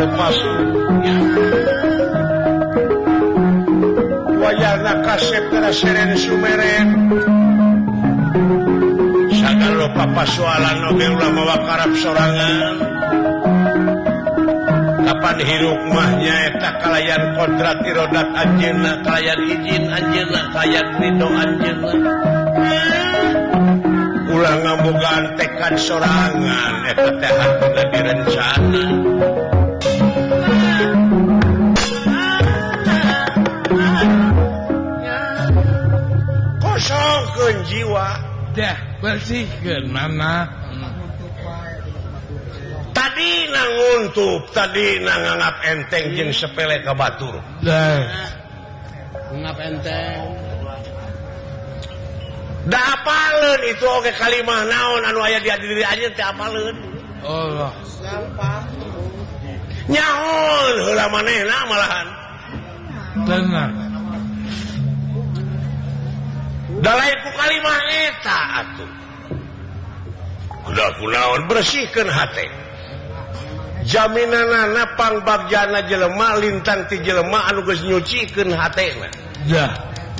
lepas wayana kasep kena seren sumeren sagala papasoalan oge ulah mawa karep sorangan kapan hiruk mahnya eta kalayan kodrat irodat anjeunna kalayan izin anjeunna kalayan ridho anjeunna ulah ngabogaan tekad sorangan eta teh hartuna direncana kosongkeun jiwa dah bersihkeun mana tadi nguntup tadi nganggap enteng jeung sepele ka batur dah nganggap enteng da apaleun itu oge kalimah naon anu aya di diri anjeun teh apaleun Allah nyaon heula manehna malahan tenang dalai ku kalimah eta atuh kuda kunaon bersihkeun hate jaminanana pangbagjana jelema lintang ti jelema anu geus nyucikeun hatena dah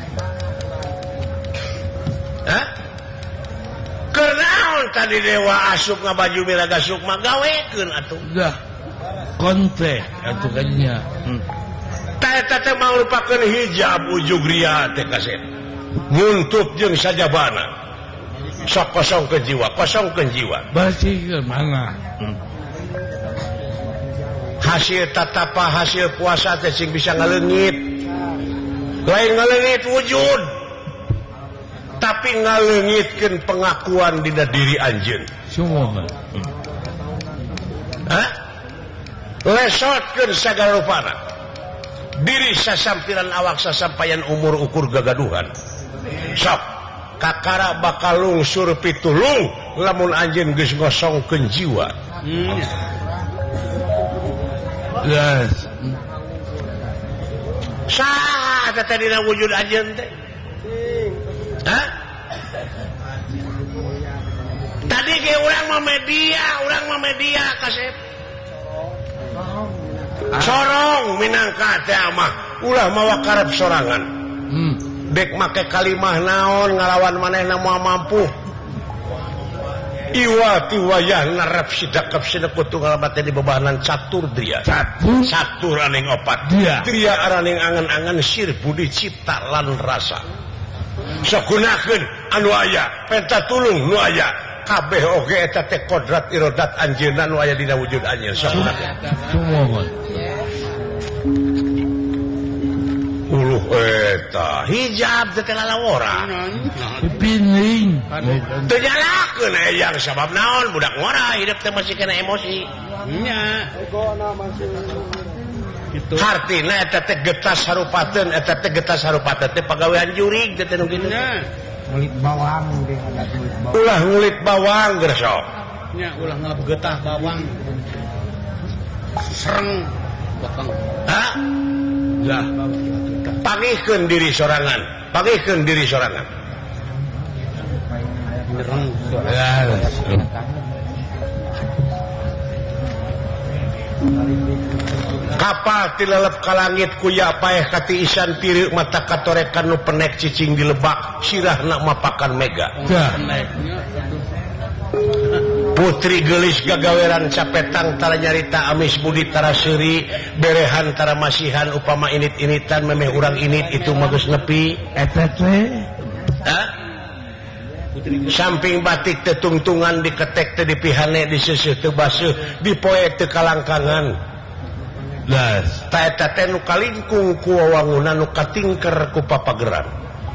hah kenaon tadi dewa asup ngabaju miraga sukma gawekeun atuh dah konte atuh kanya eta teh mangrupakeun hijab ujug ria teh kasep nguntup jeung sajabana sok kosongkeun jiwa bersihkeun mana hasil tatapa hasil puasa teh sing bisa ngaleungit lain ngaleungit wujud tapi ngaleungitkeun pengakuan dina diri anjeun semua lesotkeun sagala rupana diri sasampiran awak sasampayan umur ukur gagaduhan sok kakara bakal lungsur pitulung lamun anjeun geus ngosongkeun jiwa yes saha teh dina wujud anjeun teh tadi ge urang mah media kasep sorong minangka teh mah ulah mawa karep sorangan dek make kalimah naon ngalawan manehna moal mampu iwa tiwayah narap sidakap sinekut tunggal mate di bebahanan catur dria catur aning opat dria araning angan-angan sir budi cipta lan rasa sagunakeun anu aya penta tulung nu aya kabeh oge eta teh kodrat irodat anjeunna nu aya dina wujud anjeun sagunakeun semua uluh eta hijab teh lalawora pining teu nyalakeun eyang sabab naon budak ngora hidup teh masih kena emosi nya gitu hartina eta teh getas harupateun teh pagawean jurig teh nu kitu ngulit bawang ge ulah ngulit bawang geus sok nya ulah ngabegetah bawang sereng potong lah pagihkeun diri sorangan kapal tilelep ka langit kuya paeh kati isan tiri mata katorekan nu penek cicing di lebak sirahna mapakan mega putri gelis gagaweran capetang tara nyarita amis budi tara seuri berehan tara masihan upama init-initan memeh urang init itu magus nepi eta teh samping batik teh tungtungan diketek teh dipihane diseuseut teu baseuh dipoe teu kalangkangan las ta eta teh nu kalingkung ku wawangunan nu katingker ku papageran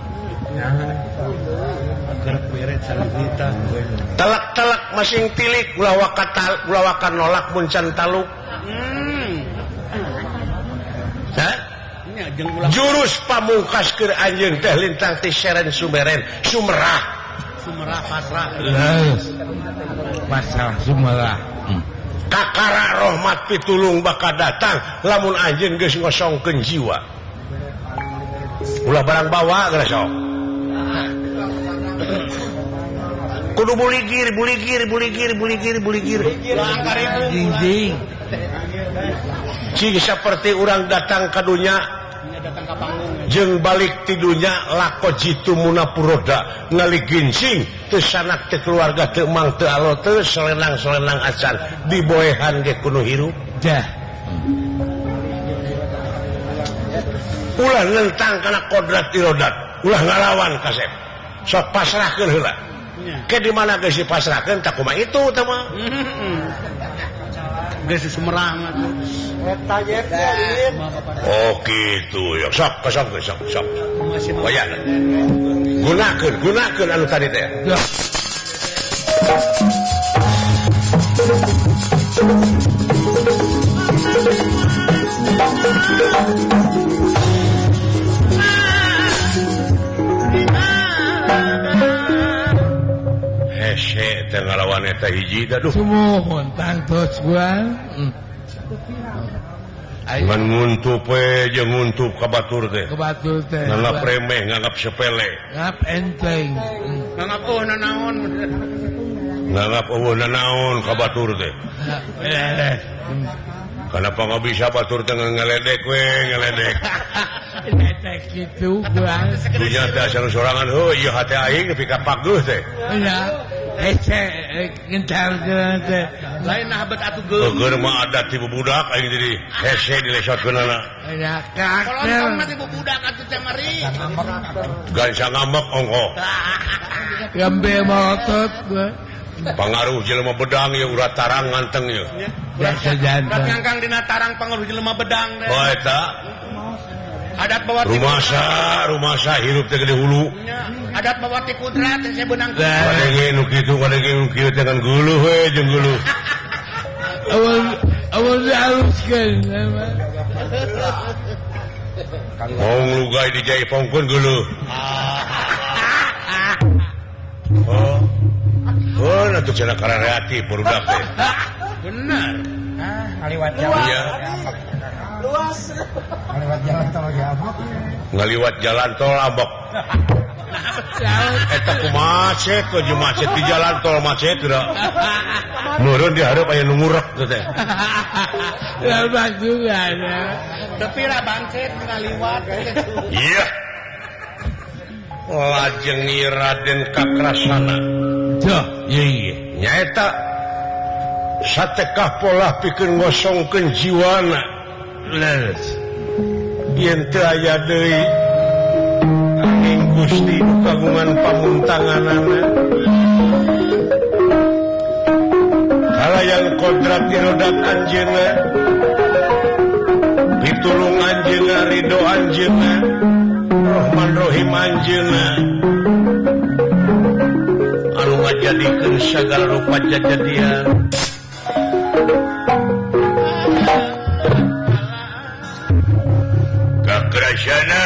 telak-telak masing tilik ulah wakan nolak muncan taluk jurus pamungkas keur anjeun teh lintang ti seren sumeren sumerah pasrah sumerah kakara rahmat pitulung bakal datang lamun anjeun geus ngosongkeun jiwa ulah barang bawa geus sok kudu buligir jing Cing seperti orang datang ke dunia jeung balik tidunya lako jitu munapuroda ngali ginsing teu sanak teu keluarga teu mang teu alo teu selenang-selenang acan diboehan ge kuno hirup dah ulah nentang kana kodrat irodat ulah ngalawan kasep sok pasrahkeun heula ke di mana geus dipasrahkeun tak kumaha itu teh mah geus sumerang atuh eta ye oh gitu ya sok wayan gunakeun anu tadi teh dah hese teh ngalawan eta hiji duh semohon tangtos gua ngan nguntup we jeung nguntup ka batur teh kebatul teh nganggap remeh nganggap sepele ngap enteng nganggap nanaon nganggap nanaon ka batur teh kenapa nggak bisa batur teh ngeledek we ngeledek ledek gitu gua dunya teh asal sorangan ieu hate aing nepi ka pageuh teh ya hese gentar teh lain habet atuh geus keur mah adat ti budak aing jadi hese dilesotkeunana ya kalau kakel mah ti budak atuh teh mari gansa ngambek ongko gambe motot gua pangaruh jelema bedang ya urat tarang nganteng ya biasa jantan ngangkang dina tarang pangaruh jelema bedang teh oh eta adat bawa ti rumasa hirup teh gede hulu adat bawa ti kudrat teh benang kadenge nu kitu kadenge nu kieu teh kan guluh we jeung guluh awal dihaluskan ngong lugay dijaipongkeun guluh oh atuh cenah karereatif budak teh bener ngaliwat jalan iya luas ngaliwat jalan tol ge abok ngaliwat jalan tol abok eta kumacet ku jeung macet di jalan tol macet teu meureun di hareup aya nu ngurek teh lepas juga ada tapi lah bangkit ngaliwat iya lajeng Raden Kakrasana tuh iya nyaeta satekah pola pikeun ngosongkeun jiwana leres yen teu aya deui angin Gusti nu kagungan pamuntanganana kalayan kodrat irodat anjeunna pitulung anjeunna ridho anjeunna Rahman Rahim anjeunna anu ngajadikeun sagala rupa jajadian Kakrasana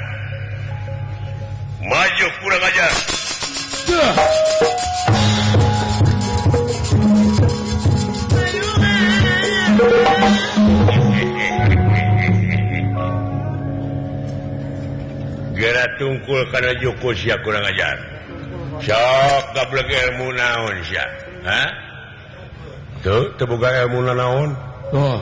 maju kurang ajar tuh gara tungkul kana Joko sia kurang ajar sok gablek ilmu naon sia ha tuh teu boga ilmu naon tuh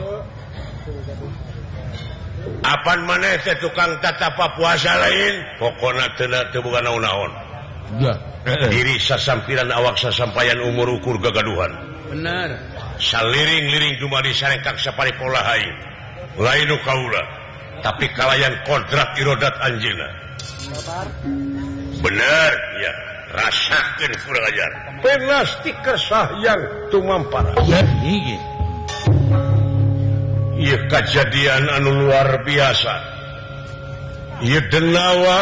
apan maneh teh tukang tatapa puasa lain pokona teu boga naon-naon ya diri sasampiran awak sasampayan umur ukur gagaduhan bener saliring-liring dumadi sarengkak saparipola hayu lain nu kaula tapi kalayan kodrat irodat anjeunna bener ya rasakeun kurang ajar penasti kesahyan tumampara ya iya ieu kejadian anu luar biasa ieu denawa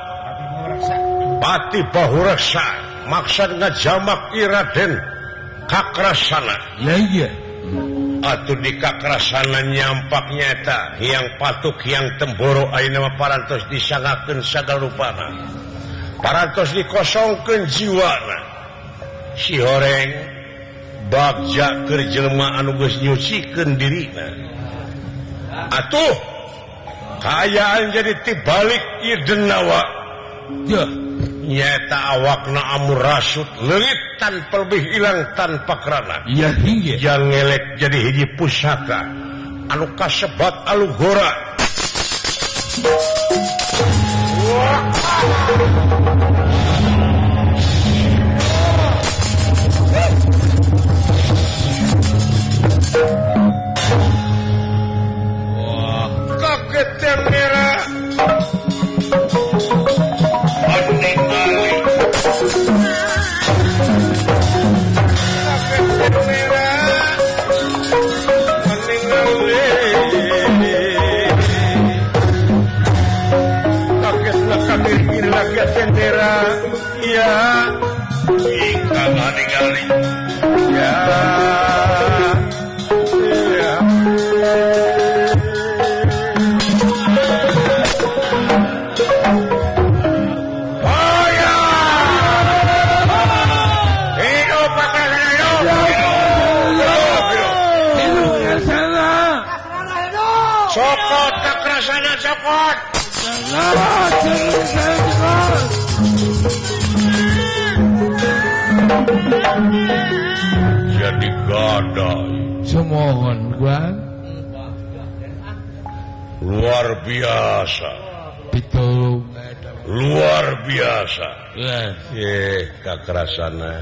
Pati Bahureksa maksud ngajamak Raden Kakrasana ya iya atuh di Kakrasana nyampaknya eta hiang patuk hiang temboro ayeuna mah parantos disangakeun sagala rupana parantos dikosongkeun jiwana si horeng bagja keur jelema anu geus nyucikeun dirina atuh kaayaan jadi tibalik ieu denawa ya nyata awakna amur rasut leungit tanpa lebih hilang tanpa kerana iya hingga yang ngelek jadi hiji pusaka anu kasebat alugora wah kaget yang merah ningali kaget yang merah ningali kagetlah kami kaget yang merah ya ika ningali ya Sokot kakrasana sokot. Jadi gadai. semohon gua Luar biasa. pitulung Luar biasa. Kakrasana.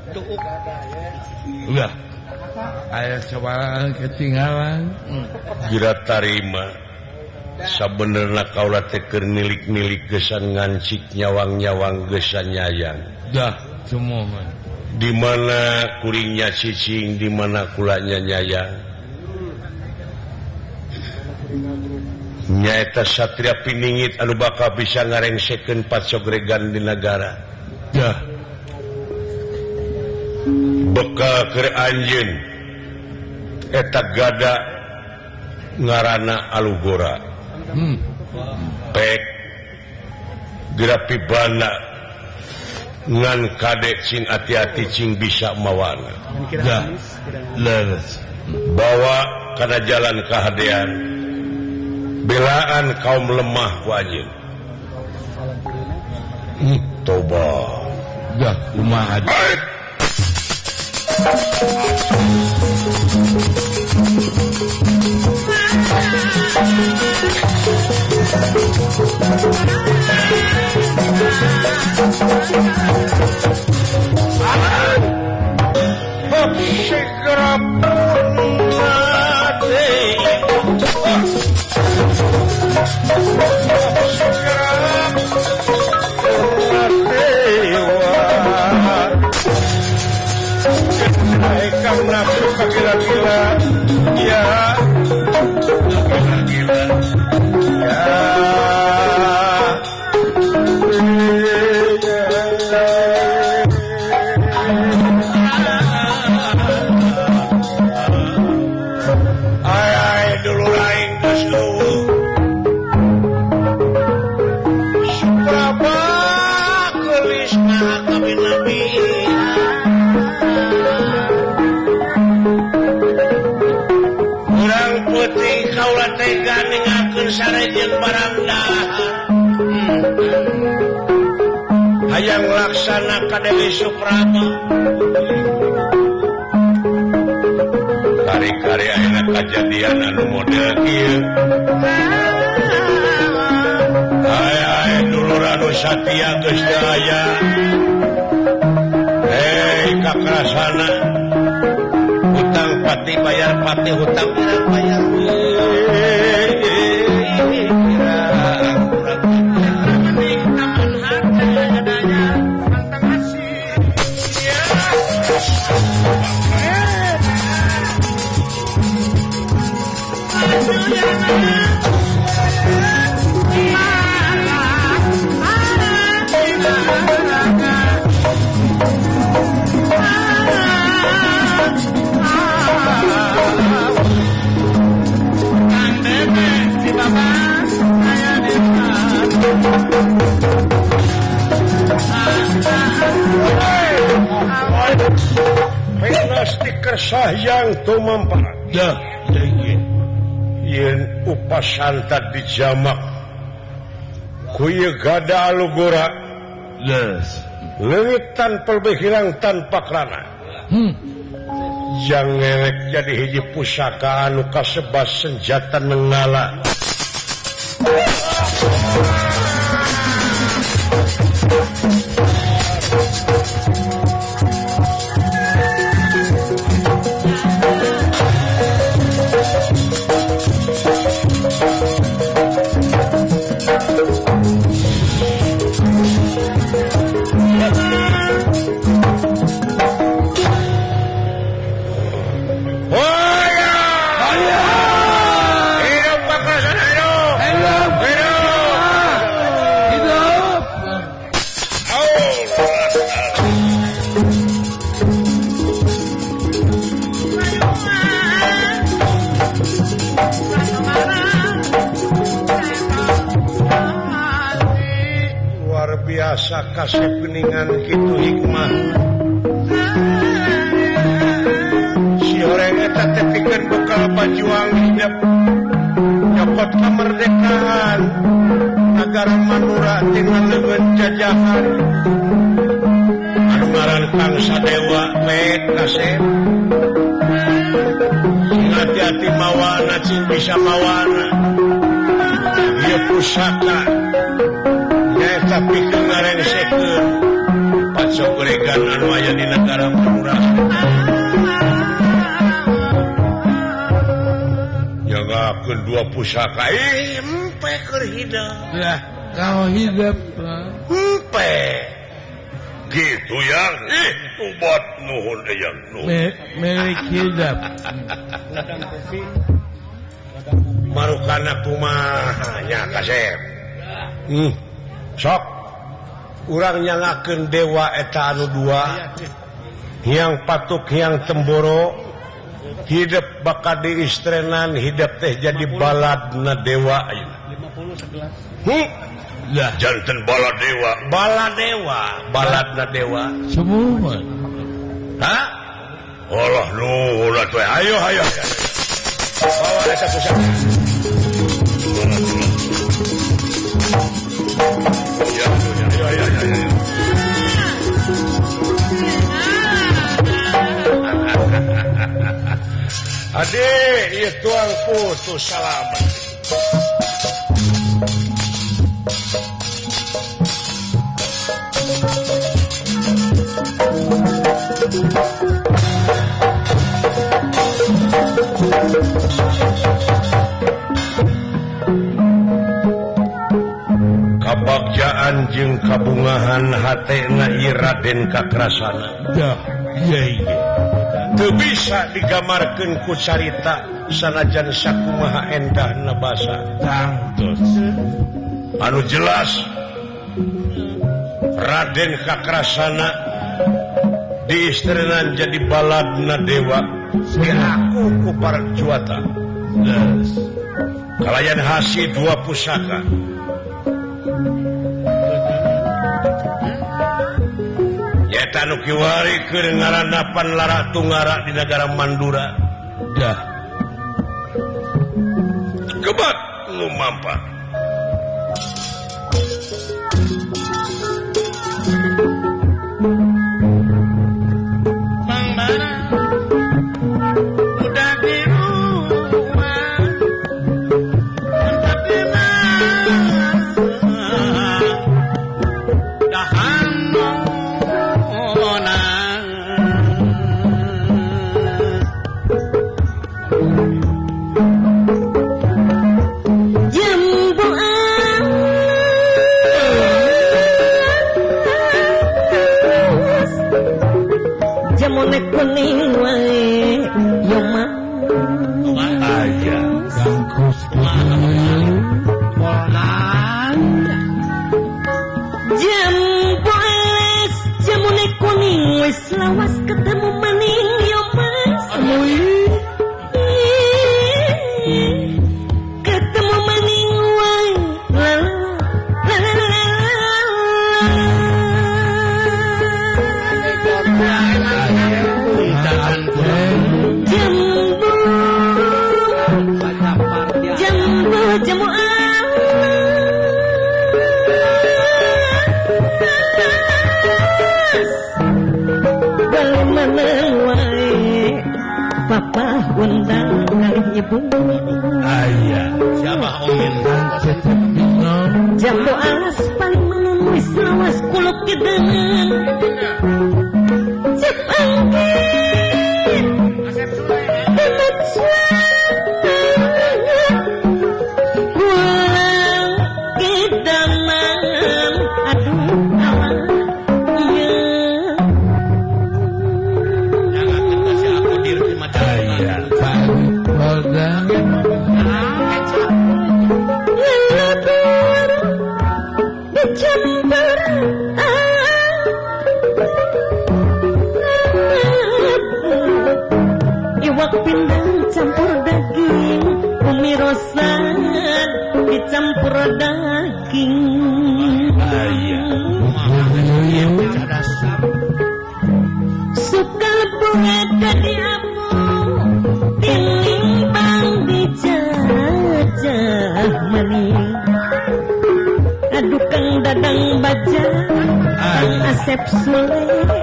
udah aya cobalan ketinggalan Gira tarima. Sabenerna kaula teh keur nilik-nilik gesan ngancik nyawang-nyawang gesan nyayang. dah semohon Di mana kuringnya cicing, di mana kulanya nyayang. Nyaeta satria piningit anu bakal bisa ngarengsekeun pacogregan di negara. dah Bekal keur anjeun eta gada ngaranna alugora. Pek Grapibana ngan kadek cing hati-hati cing bisa mawana. dah leres Bawa kana jalan kahadean. Belaan kaum lemah wajib. Toba. dah kumaha Segera punate. Segera naikkan nafsu ke gila-gila. Ya gila-gila. Ya ay dulu lain geus eueuh. Supraba geulis maha kabinabi. Urang putih kaula teh ganingakeun sarejeun barang dahar. Hayang laksana ka Dewi Supraba. Kari-kari ayeuna kajadian anu model kieu. Aya dulur anu satia geus teu aya. Hei kakrasana. Hutang pati bayar pati, hutang pirang bayar. Stiker sayang tumampar. dah Yen upasanta dijamak ku ieu gada alugora Leres. Leungit tanpa berhilang tanpa kelana. Yang ngelek jadi hiji pusaka anu kasebat senjata nenggala. Biasa kasih peningan gitu hikmah si orang eta teh pikeun bekal bajuang hidup nyokot kemerdekaan negara Madura tina leungeun jajahan anu ngaran Kang Sadewa pek kasih sing hati-hati mawana cing bisa mawana ieu pusaka tapi kemarin sekeun pacogoregan anu aya di negara Madura. Jangakeun dua pusaka empe keur hidup. Lah, kau hidup. Empe. Gitu yang ubat nuhun eyang nuhun. Milik hidup. Marukana kumaha nya Kasep. Sok urang nyangakeun dewa eta anu dua yang patuk yang temboro hidup bakal diistrenan hidup teh jadi baladna dewa ayeuna 50 11 lah janten baladewa baladna dewa semua ha Allah nuhun atuh ayo bawa eta pusaka Adik, iya tuang putus salaman. Kabagjaan jeung kabungahan hatena ieu Raden Kakrasana. Dah, iya. Teu bisa digamarkeun ku carita sanajan sakumaha endahna basa. Tangtos. Anu jelas Raden Kakrasana diistrenan jadi baladna dewa diaku ku para juata. Leres. Kalayan hasi dua pusaka. Nyata nu kiwari keur ngaranapan lara tunggara di negara Mandura. Dah. Kebat nu mampa. Kuning wae yo mah Aja Gangkus Jamboles jamune kuning wis lawas ketemu maning yo mas ketemu maning wae jambu Sanen wae Papa undang kali ibu Ayah. Siapa Omin? Cecep bingung. Jambu alas paling menemu Lawas kuluk kidangan Cep angkin Asep Sule. Demet pulang kidangan Aduh alah Jangan kasih aku diri di Majalengka. Ayah. Kali kodang. Lelebur dicampur iwak pindang campur daging umi rosan dicampur daging Ayah. suka bunga kadi abu tinimbang dijajah maning aduh kang dadang baja Asep Sule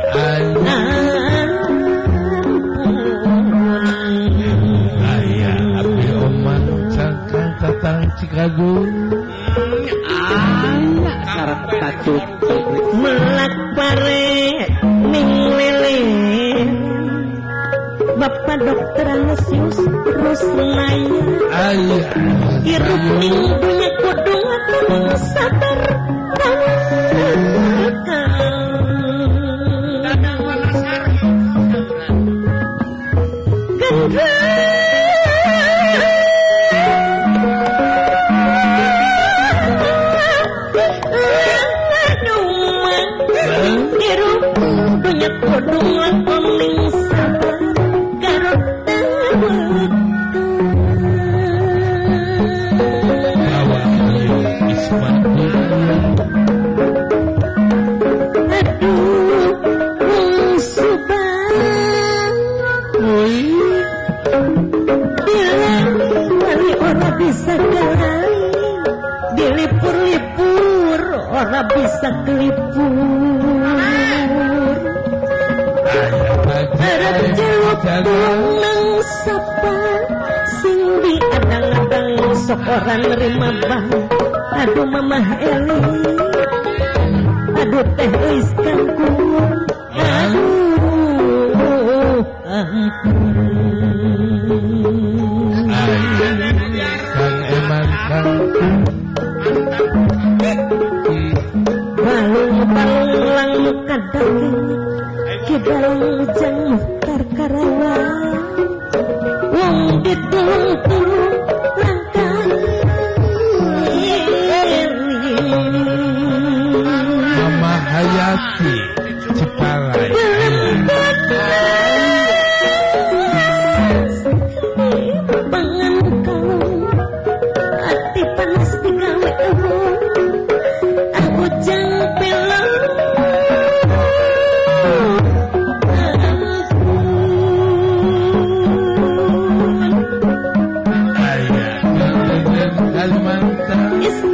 Ayah. Abi oman cangkang tatang Cikadu. Sarap tacut. melak pare ning lele Bapak dokter anestesius terus naya Ayah. hirup ning dunya kudu ngatur sabar Dadang Wanasari. Dunya kudu ngatur ning sabar karo Bawa Ayu Ismail. aduh wong subang bilang wali ora bisa galai dilipur-lipur ora bisa kelipur harap jawab nang sapa sing diadang-adang sok ora nerima bang aduh mamah Eli aduh teh eis kangkung aduh ampun Kang Eman Kang balung-balung lang muka daging kidalang jang muhtar Karawang wong ditulung-tulung langkah Mama Hayati Cipalai. pangan kalung hati panas digawe ewong aku jang pilang Ayah. Kang Kalimantan.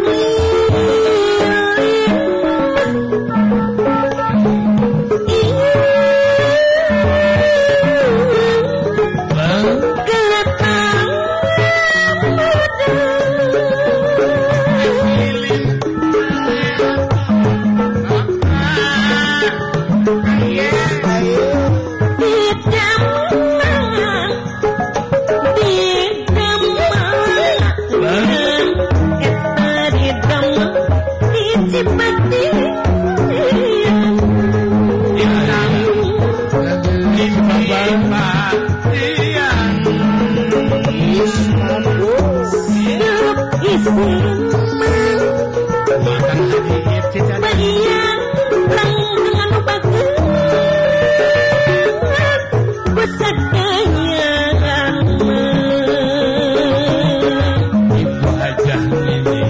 Ibu Hajah ini.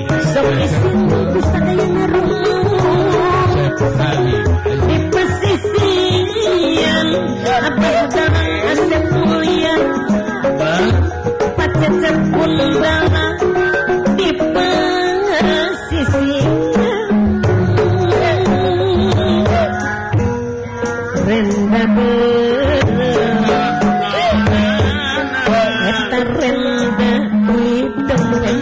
Di pesisian abah darang Asep mulia pacecep pun darah di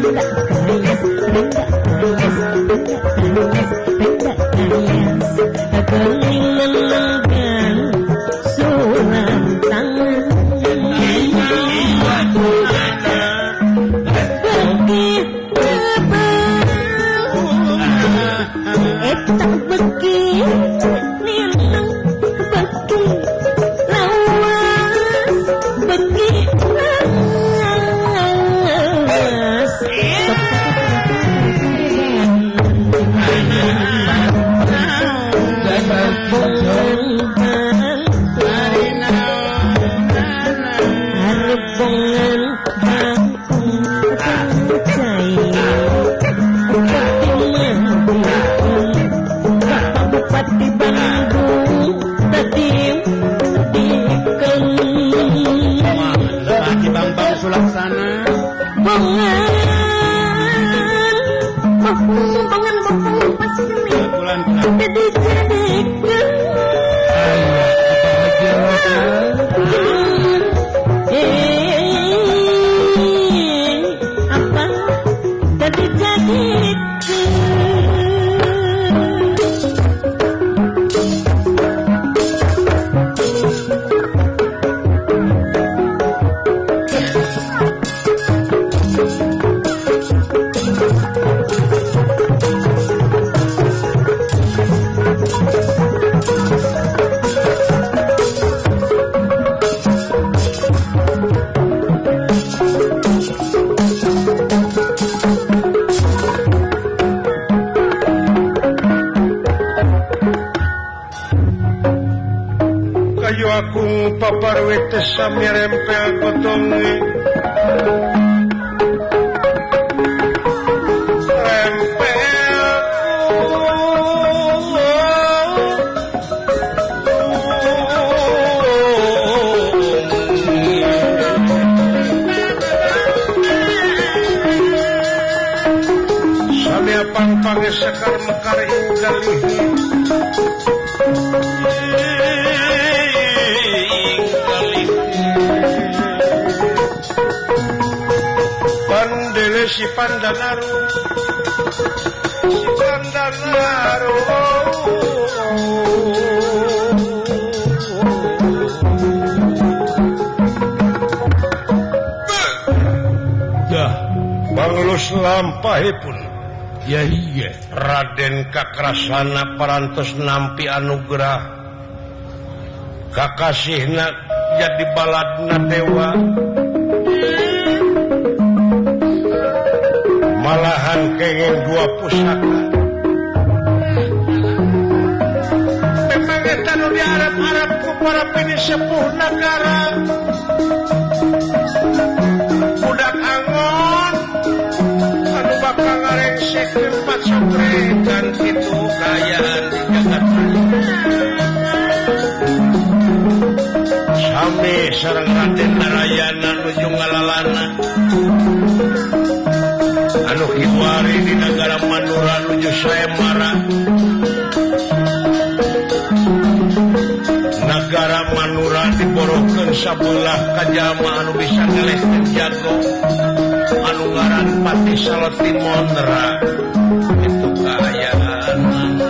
Sami rempel kotongi rempel sami apang pange sekar mekar inggalih si Pandanaru dah banglus lampahipun ya iya Raden Kakrasana parantos nampi anugerah kakasihna jadi baladna dewa malahan kenging dua pusaka memang eta nu diarep-arep ku para pinisepuh nagara budak angon anu bakal ngarengsikeun pacokrekan kitu kayaan di jagat sami sareng Raden Narayana nuju ngalalana anu kiwari di negara Mandura nuju Sayembara negara Mandura diborohkeun sabelah kajama anu bisa ngelehkeun jago anu ngaran Pati Saleti Mondra itu kaayaan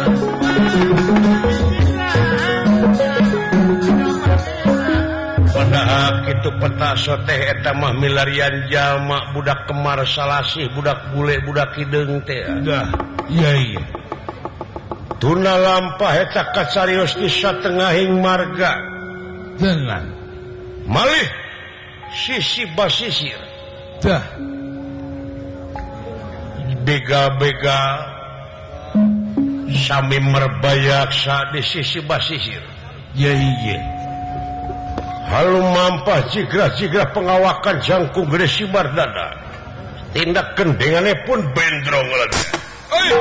padahal kitu peta soteh eta mah milarian jalma budak Kemar Salasih budak bule budak hideung teh dah iya iya tuna lampah eta kacarios di satengahing marga dengan malih sisi basisir dah begal-begal sami merbayaksa di sisi basisir ya iya halu mampah jigrah-jigrah pengawakan jangkung gede si Mardana tindak kendengane pun bendrong lagi ayo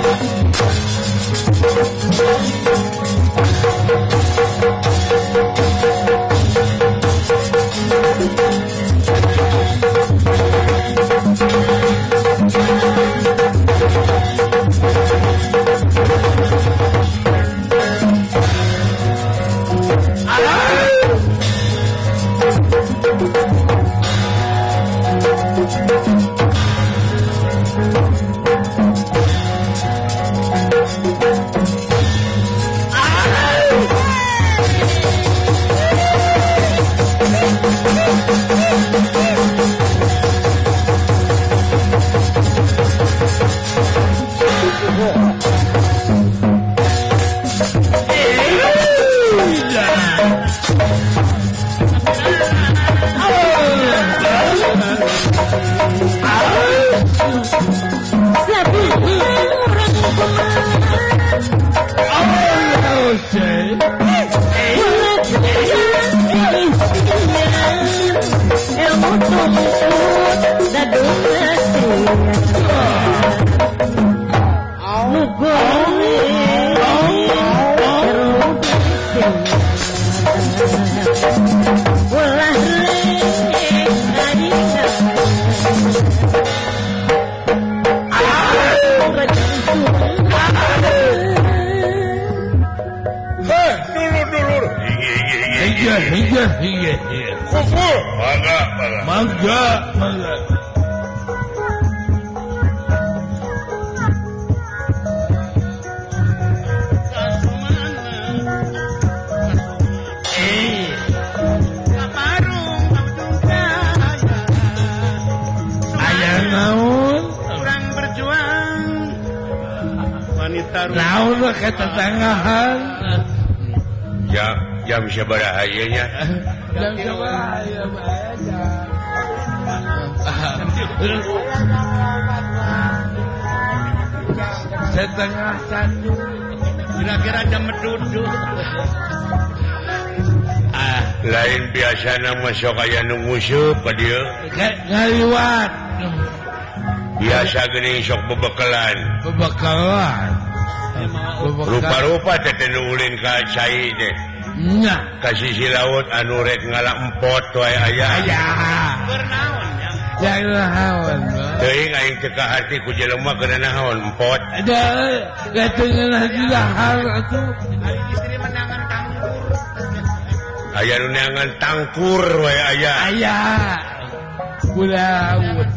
Jam seberahayanya setengah satu Kira-kira jam meduduk. lain biasa masuk kayak nunggusup ke dia ngaliwat biasa gini sok bebekalan rupa-rupa teteh ulin ka cai deh nya kasih si laut anu rek ngalak empot wae aya Bernaon ya. jangan lawan teuing aing teu ka hati ku jelema keuna naon empot ada gatengan lagi lahar atuh Ari istri menangan tangkur. aya nu neangan tangkur wae aya aya kulaut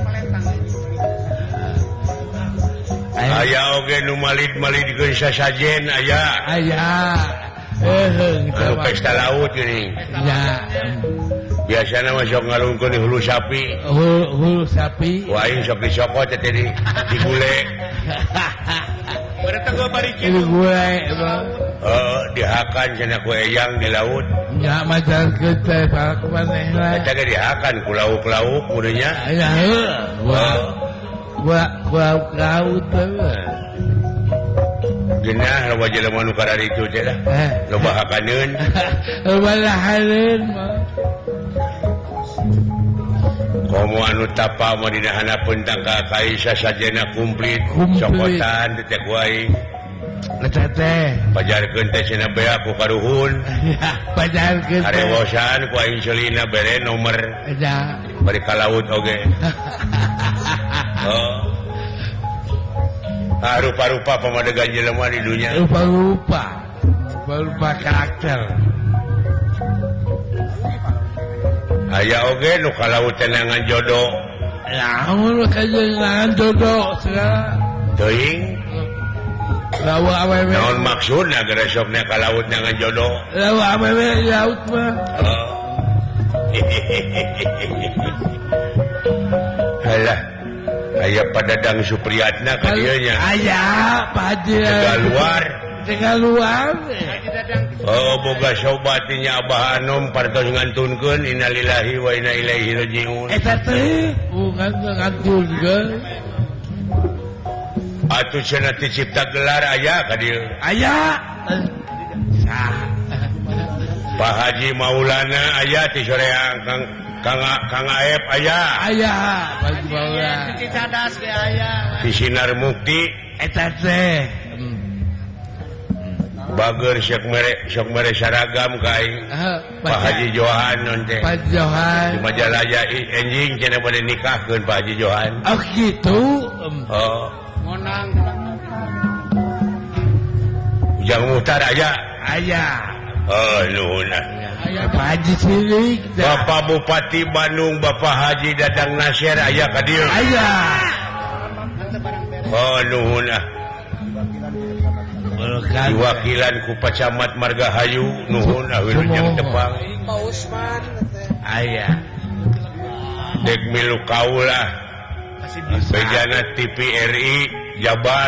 aya oge nu malid-malidkeun sasajen aya anu pesta laut geuning ya biasana mah sok ngalungkeun di hulu sapi hulu sapi wah aing sok disokot teh di gule Berarti gua bari ini gue dihakan cenah ku eyang di laut ya macam kita para kemaneh lah eta ge dihakan ku lauk-lauk mudanya ya gua laut geunah loba jelema nu kada ditu teh dah loba hakaneun balahareun mah komo anu tapa mah dina hanapeun tangka kai sasajana komplit cokotan teh ku aing eta teh pajarkeun teh cenah bea ku karuhun pajarkeun harewosan ku aing celina bere nomer ya bari ka laut oge rupa-rupa pamadegan jelema di dunia rupa karakter aya oge nu ka laut tenangan jodoh naon kajengan jodoh segala teuing lawa awewe naon maksudna gara sokna ka laut nangan jodoh lawa awewe laut mah halah aya padadang Supriyatna ka dieu nya aya tengah luar boga sobatinya Abah Anom partos ngantunkeun innalillahi wa inna ilaihi rajiun eta teh bukan ngantunkeun atuh cenah dicipta gelar aya ka dieu aya Pak Haji Maulana aya ti soreang Kang Kang Aep aya baju bawa Cici cadas ge aya. di Sinar Mukti eta teh bager sok mere saragam ka aing Pak Haji Johan non teh Pak Johan di Majalaya enjing cenah bade nikahkeun Pak Haji Johan oh gitu oh Ngonang. Ujang Muhtar aya oh nuhun aya Pak Haji Sidik Bapak Bupati Bandung Bapak Haji Dadang Nasir aya ka dieu aya oh nuhun diwakilan ku Pacamat Margahayu nuhun Wilujeng Tepang Pak Usman aya dek milu kaulah bejana TVRI Jabar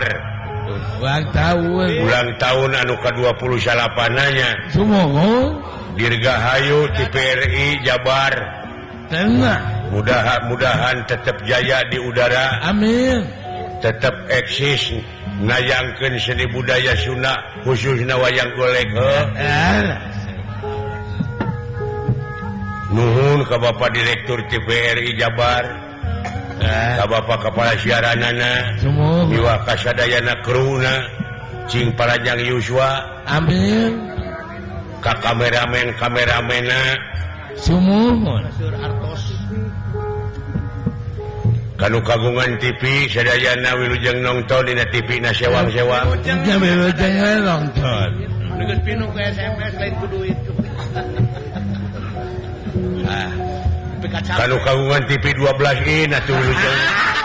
ulang tahun anu ke-28-nya sumoho Dirgahayu TVRI Jabar tenang mudah-mudahan tetap jaya di udara amin tetap eksis nayangkeun seni budaya Sunda khususna wayang golek nuhun ka Bapak Direktur TVRI Jabar ka Bapak Kepala Siaranana miwah kasadayana kruna cing Parajang Yuswa amin ka kameramena sumuhun kanu kagungan TV sadayana wilujeng nongton dina TV na sewang-sewang wilujeng nongton Geus pinu ke SMS lain ku duit. Kanu kagungan TV 12 atuh wilujeng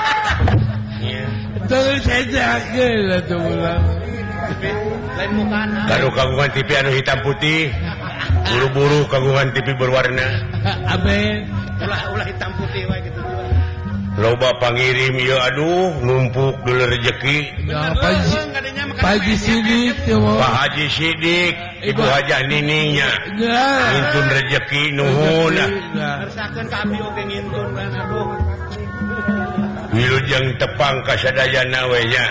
terus saja atuh ulang Lain mukana. kanu kagungan TV anu hitam putih buru-buru kagungan TV berwarna amin Ulah hitam putih wae gitu. loba pangirim ieu aduh numpuk dulu rezeki Pak Haji Sidik Pak Haji Sidik Ibu Hajah Niningnya ngintun rezeki nuhun Ngersakeun ka abdi oge ngintun kan aduh. wilujeng Tepang kasadayana we nya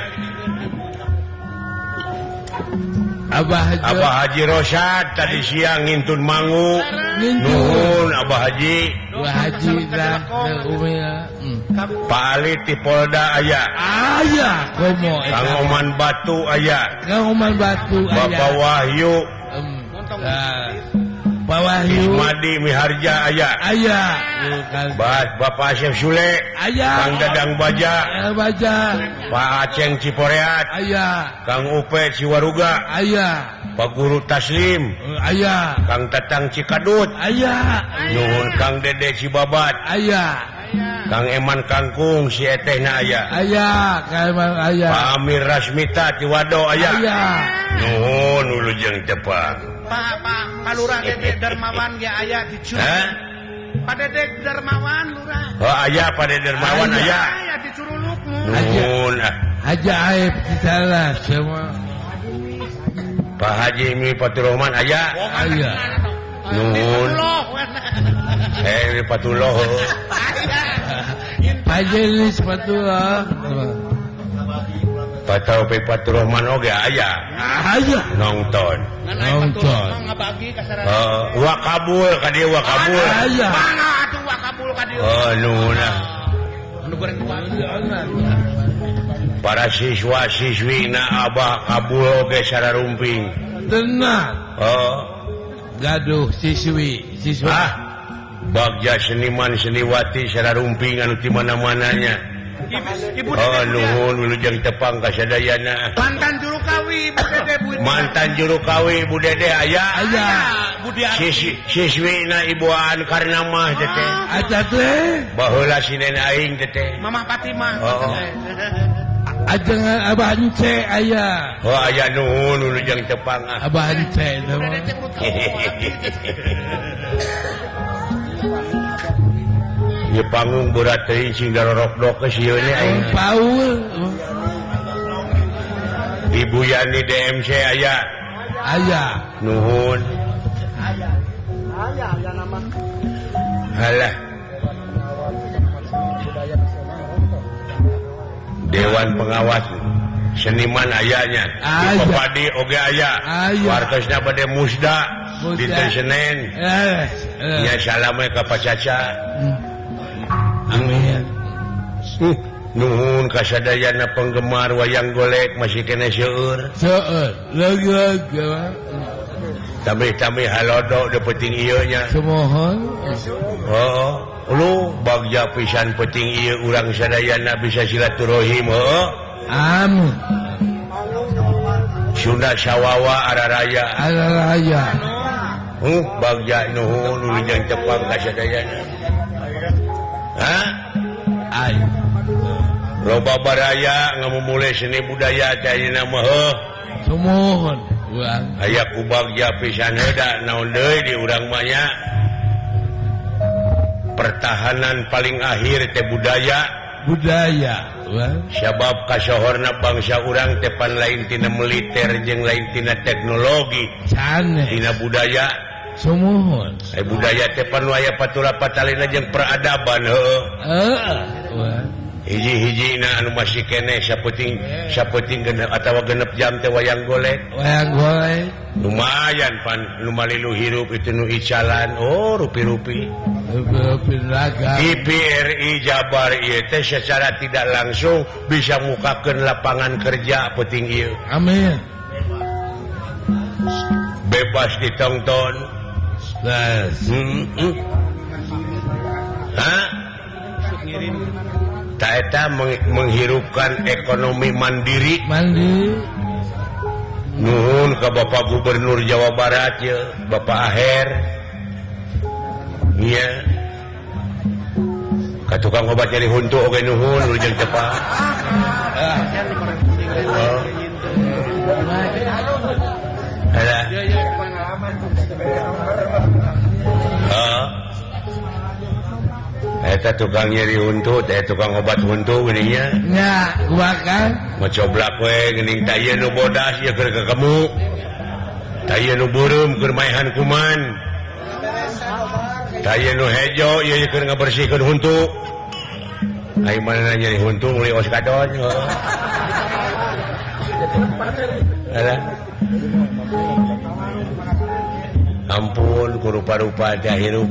Abah Haji Rosad tadi siang ngintun mangu nuhun Abah Haji dan Umina Pak Ali ti Polda aya komo Kang Oman Batu aya Bapak Wahyu Pak Wahyu Ismadi Miharja aya Bapak Asep Sule Kang Dadang Baja Pak Aceng Ciporeat Kang Upe Ciwaruga Pak Guru Taslim Kang Tatang Cikadut nuhun Kang Dede Cibabat Kang Eman Kangkung si etehna aya Pak Amir Rasmita Ciwado aya nuhun wilujeng Tepang Pak Lurah Dedek Darmawan ge aya di Curug. Pak Dedek Darmawan Lurah. Oh aya Pak Dedek Darmawan aya Aya di Curuluk. nuhun Haji Aib salah semua Pak Haji Mi Faturrahman aya nuhun Fatullah Pak Jelis Fatullah Pak Taufik Faturrahman oge aya nongton Ngabagi kasarana. wakabul ka dieu wakabul Mana atuh wakabul ka dieu. oh nuhun Anu goreng kuat. para siswa-siswi na Abah kabul oge sararumping tenang oh gaduh siswa bagja seniman seniwati sararumping anu ti mana-mananya Ibu oh nuhun wilujeng Tepang kasadayana mantan juru kawi Ibu Dede Bu. mantan juru kawi Bu Dede aya Budi Ari. siswina Ibuan Karnamah teteh aja teh baheula sinen aing teteh Mamah Fatimah. Oh. ajengan Abah Ence aya oh aya nuhun wilujeng Tepang Abah Ence ieu panggung berat teuing sing darorok-dok ke sieun aing Paul Ibu Yani DMC aya nuhun halah Dewan Pengawas seniman ayanya padi oge aya wartosna bade musda dinten Senin nya salam ka Pak Caca amin nuhun kasadayana penggemar wayang golek masih kena seueur lagi tamih halodo de penting ieu nya semohon lu bagja pisan penting ieu urang sadayana bisa silaturahim amin Sunda Sawawa Araraya bagja nuhun wilujeng tepang kasadayana ayo loba baraya ngamumule seni budaya caina mah semohon aya ku bagja pisan heuda naon deui di urang mah nya pertahanan paling akhir teh budaya sabab kasohorna bangsa urang teh pan lain tina militer jeung lain tina teknologi tina budaya semohon budaya teh pan aya patura patalina jeung peradaban hiji-hijina anu masih kene sapeting genep atawa genep jam teh wayang golek lumayan pan nu malilu hirup itu nu icalan rupi-rupi TVRI Jabar ieu teh secara tidak langsung bisa mukakeun lapangan kerja penting ieu amin bebas ditonton tak eta menghirupkan ekonomi mandiri nuhun ke Bapak Gubernur Jawa Barat ya Bapak Aher iya ka tukang obat nyeri huntu oge nuhun wilujeng tepang eta tukang nyeri huntu teh tukang obat huntu geuning nya nya kumakan macoblak we geuning tah ieu nu bodas ieu keur ka kamu tah ieu nu beureum keur maehan kuman tah ieu nu hejo ieu keur ngabersihkeun huntu ai manehna nyeri huntu meuli os kadon ampun ku rupa-rupa teh hirup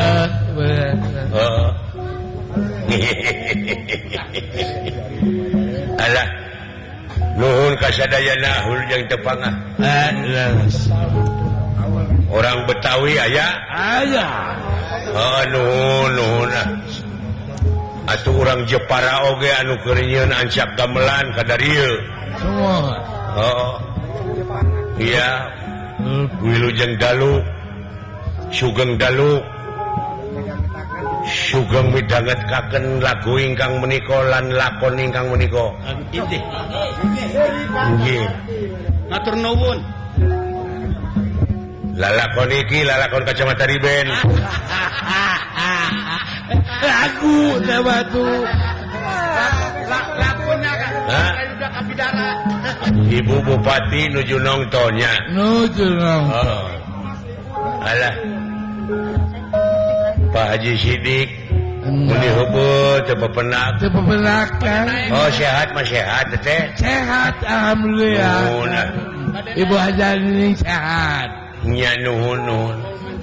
alah nuhun kasadayana wilujeng tepang orang Betawi aya nuhun atuh urang Jepara oge anu keur nyieun ancak gamelan ka darieu iya wilujeng dalu sugeng dalu sugeng midhangetkaken lagu ingkang menika lan lakon ingkang menika nggih ngatur nuwun lalakon iki lalakon Kacamata Riben lagu batu lakonnya kan udah kabidara Ibu Bupati nuju nongtonnya alah Pak Haji Sidik muni heubeut teu pepenakan sehat mah sehat teh sehat alhamdulillah Ibu Haji ini sehat nya nuhun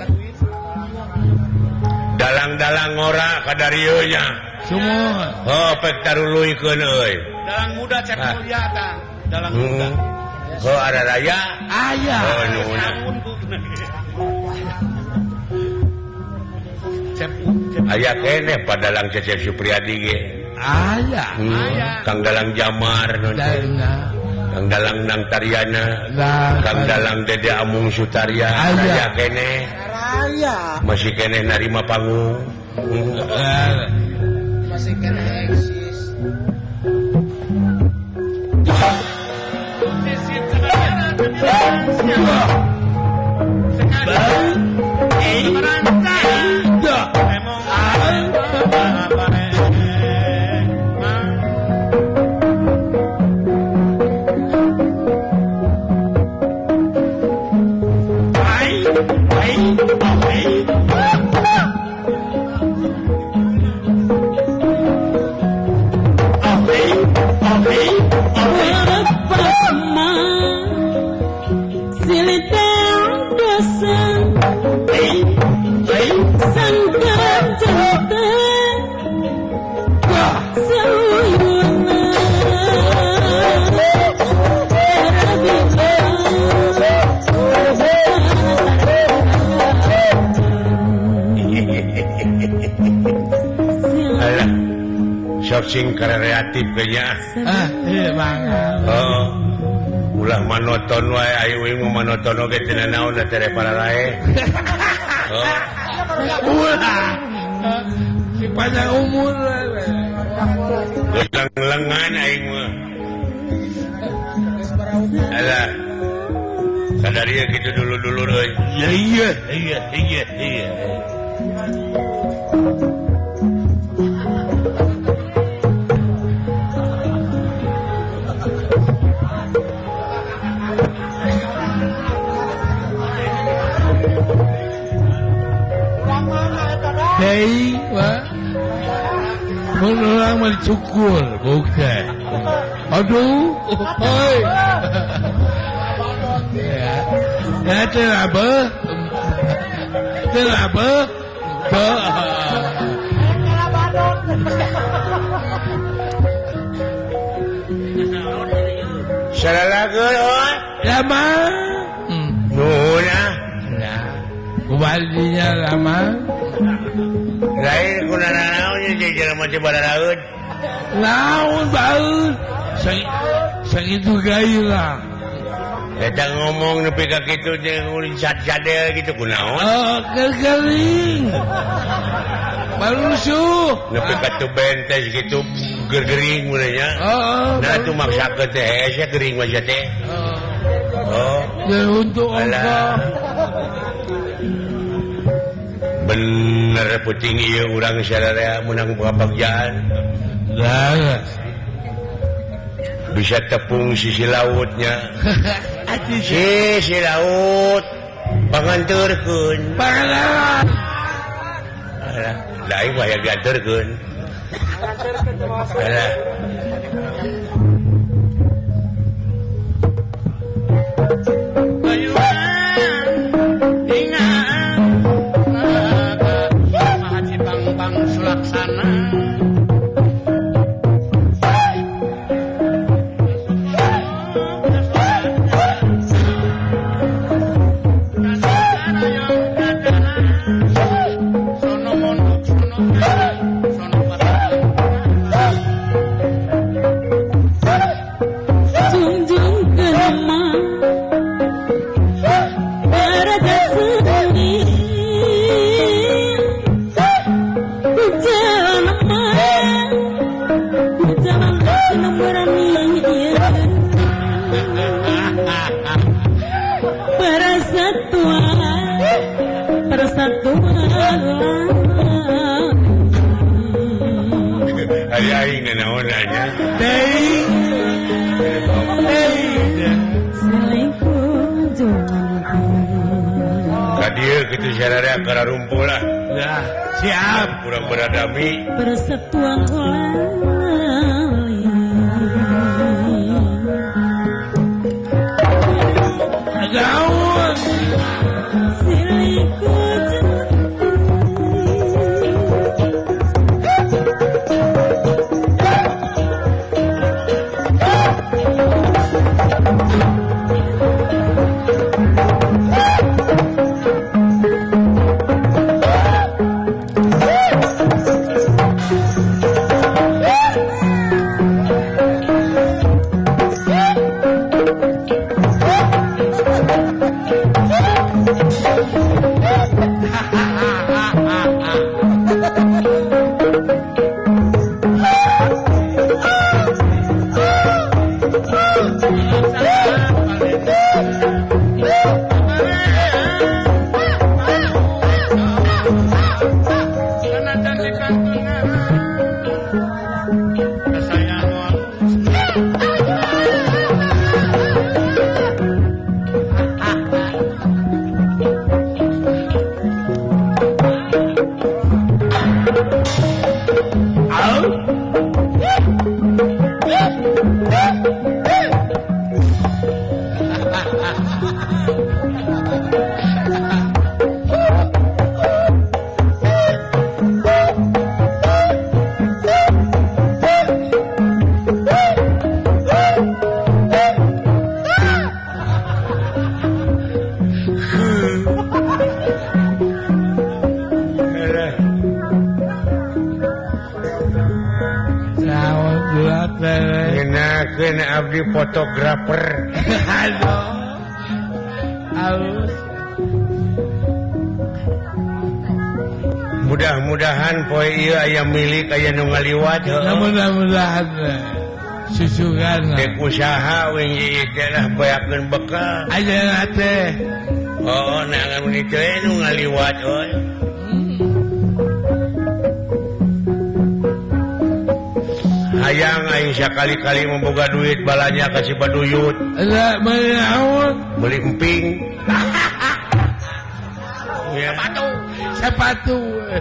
dalang-dalang ngora ka darieu nya semua pek taruluykeun euy dalang muda cek mulia tah dalang muda Araraya aya nuhun aya kene padalang Cecep Supriyadi ge aya Kang Dalang Jamar Kang Dalang Nang Taryana Kang Dalang Dede Amung Sutaria aya kene masih kene narima panggung masih kena eksis Okay. sok sing kreatif kayaknya. Iya banget. Oh. Ulah monoton wae ayo we monoton oge teu naon da tere para lae. Oh. Ulah. Si panjang umur. Lengan aing mah. Alah. Sadarieu kitu dulu-dulu euy. Iya. Hei, Pak. Mun orang mah dicukur, bukan. Aduh, oi. Ya, kenapa? Kenapa? Salalageun oi. Lama. Nuhun ah. Nah, kubalinya lama. Lain kunana naon nya jelema teh bararaeud. Naon baeud. Sakitu gairah. Eta ngomong nepi ka kitu teh ulin sadel gitu kunaon? Oh, kering. Barusuh. Nepi ka tu bentes gitu gergering mulai nya. Nah tu maksakeun teh hese gering mah teh. Oh. Ya untuk ongko. Bener puting ieu urang sadaya menang boga pagjaan. Laras. Bisa tepung sisi lautnya. Sisi laut panganturkeun. Panganan. Alah, lain mah ya dianturkeun. Alah. Sulaksana Aing naon nya. Kadieu kitu sararea kararumpul lah. Ya, siap. Kurang beradami. Persatuan Gaun. abdi fotografer. Aduh. Aus. Mudah-mudahan poe ieu aya milik aya nu ngaliwat heueuh. Mudah-mudahan susugan. Dek usaha wing ieu teh lah bayakeun bekal. Ayeuna teh. Oh, nangan mun teh nu ngaliwat euy. Hayang aing sakali-kali memboga duit balanya ka si Baduyut. Ada menaon? Beli emping. Sepatu.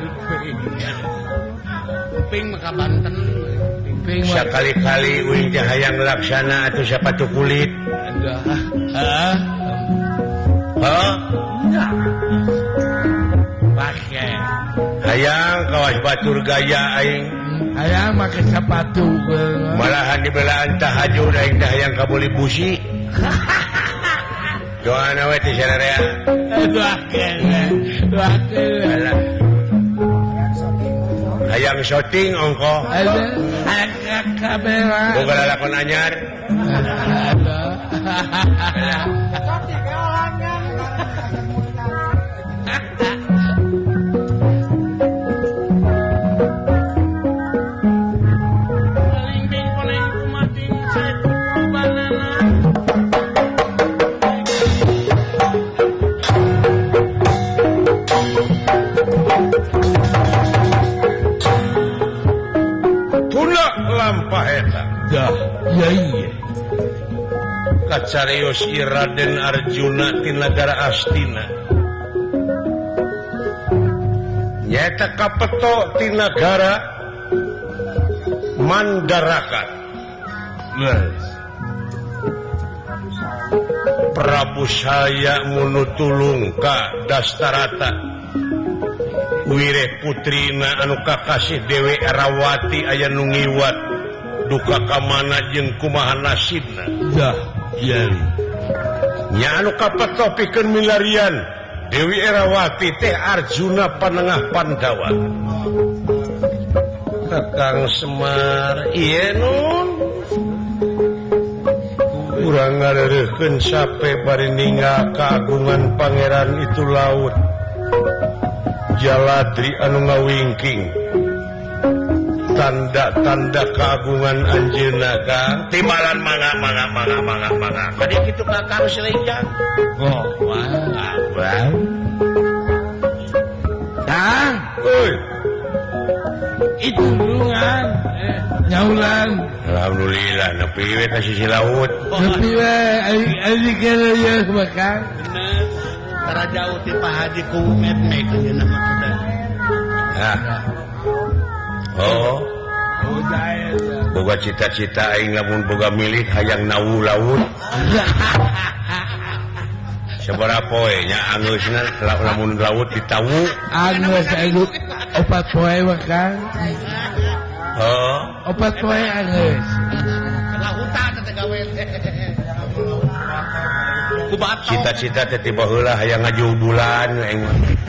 Ping maka Banten. Ping Sekali-kali uing teh hayang laksana atuh sepatu kulit. Hah? Hah? Pakai. Hayang kawas batur gaya aing. Hayang make sepatu. Malahan dibelaan tahajud aing teh hayang kabuli busi. Doana we teh sararea. Doakeun. Hayang syuting ongko. Hayang kamera. Boga lalakon anyar. Lampah eta. Dah, iya. Kacarios Raden Arjuna ti nagara Astina. Nyaeta kapeto ti nagara Mandaraka. Prabu saya munutulung ka Dastarata. Wireh putrina anu kakasih Dewi Erawati aya nu ngiwat duka kamana jeung kumaha nasibna. Dah, iya. Nya anu kapeto pikeun milarian Dewi Erawati teh Arjuna panengah Pandawa. Kakang Semar ieu nun urang ngareureukkeun sape bari ninggal kaagungan pangeran itu laut Jaladri anu ngawingking tanda-tanda keagungan anjeunna Kang timbalan mangga tadi kitu Kakang Selejan. Oh, wah. Kang, euy itu bulungan nyaulan. Alhamdulillah nepi we ka sisi laut. Tapi we ari kene ya Kang. Bener. Tara jauh ti Pak Haji ku met-met ayeuna mah kuda. Hah. Oh. Boga cita-cita aing lamun boga milik hayang nawu laut. Sabaraha poe nya angeusna lamun laut ditawu. Angeus aing 4 poe mah Kang. Oh. 4 poe angeus. Lautan teh gawe. Ku batok. Cita-cita teh tiba heula hayang ngaju bulan aing.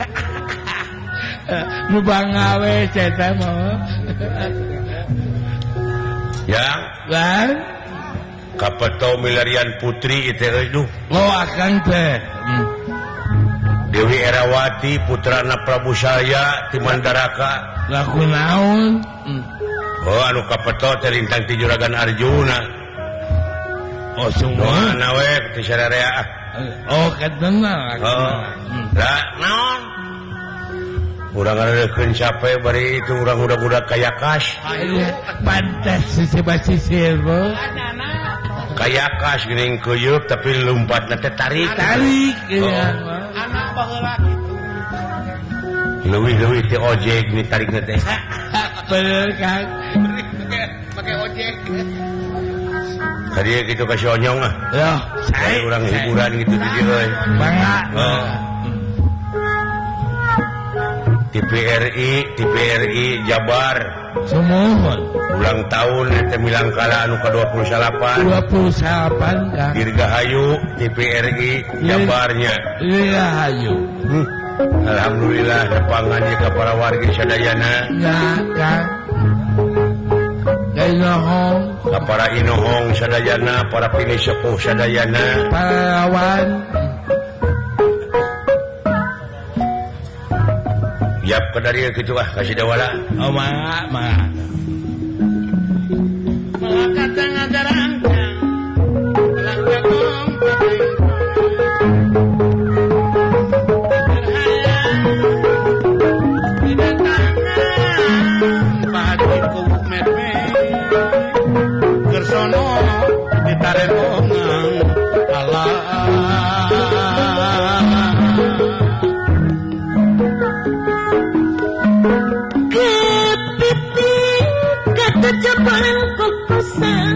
Nu bangawe ceta mah. Ya, Lan, kapeto milarian putri itu euy. lo akang teh. Dewi Erawati putrana Prabu Saya ti Mandaraka. Laku naon? Oh anu kapeto teh lintang ti Juragan Arjuna. Oh semua. Doana we ti sararea. Oh katana. Oh. Da naon? Urang ngareukeun sape bari itu urang budak-budak kayakas. Pantas sisir bro. Kayakas geuning keuyeuk tapi lompatna teh tarik. Tarik ya. Anak baheula kitu. Leuwih-leuwih ti ojek ni tarikna teh. Bener Kang. Pakai ojek. Hadiah gitu kasih onyong ah. Loh, Kayak urang hiburan gitu di dieu euy. bangga. Oh. TPRI Jabar Semohon. ulang tahun teh milangkala anu ke-28 28 Kang. Dirgahayu TPRI Jabarnya. Iya hayu. Alhamdulillah nepangannya ke para warga sadayana. Ya Kang. Inohong para inohong sadayana, para pini sepuh sadayana, para lawan yap ke dari gitu kasih dawala. oh mak Malakata ngadarangkang langkagong Gersono ditarenongang Allah kepiting kata jabalan kokosan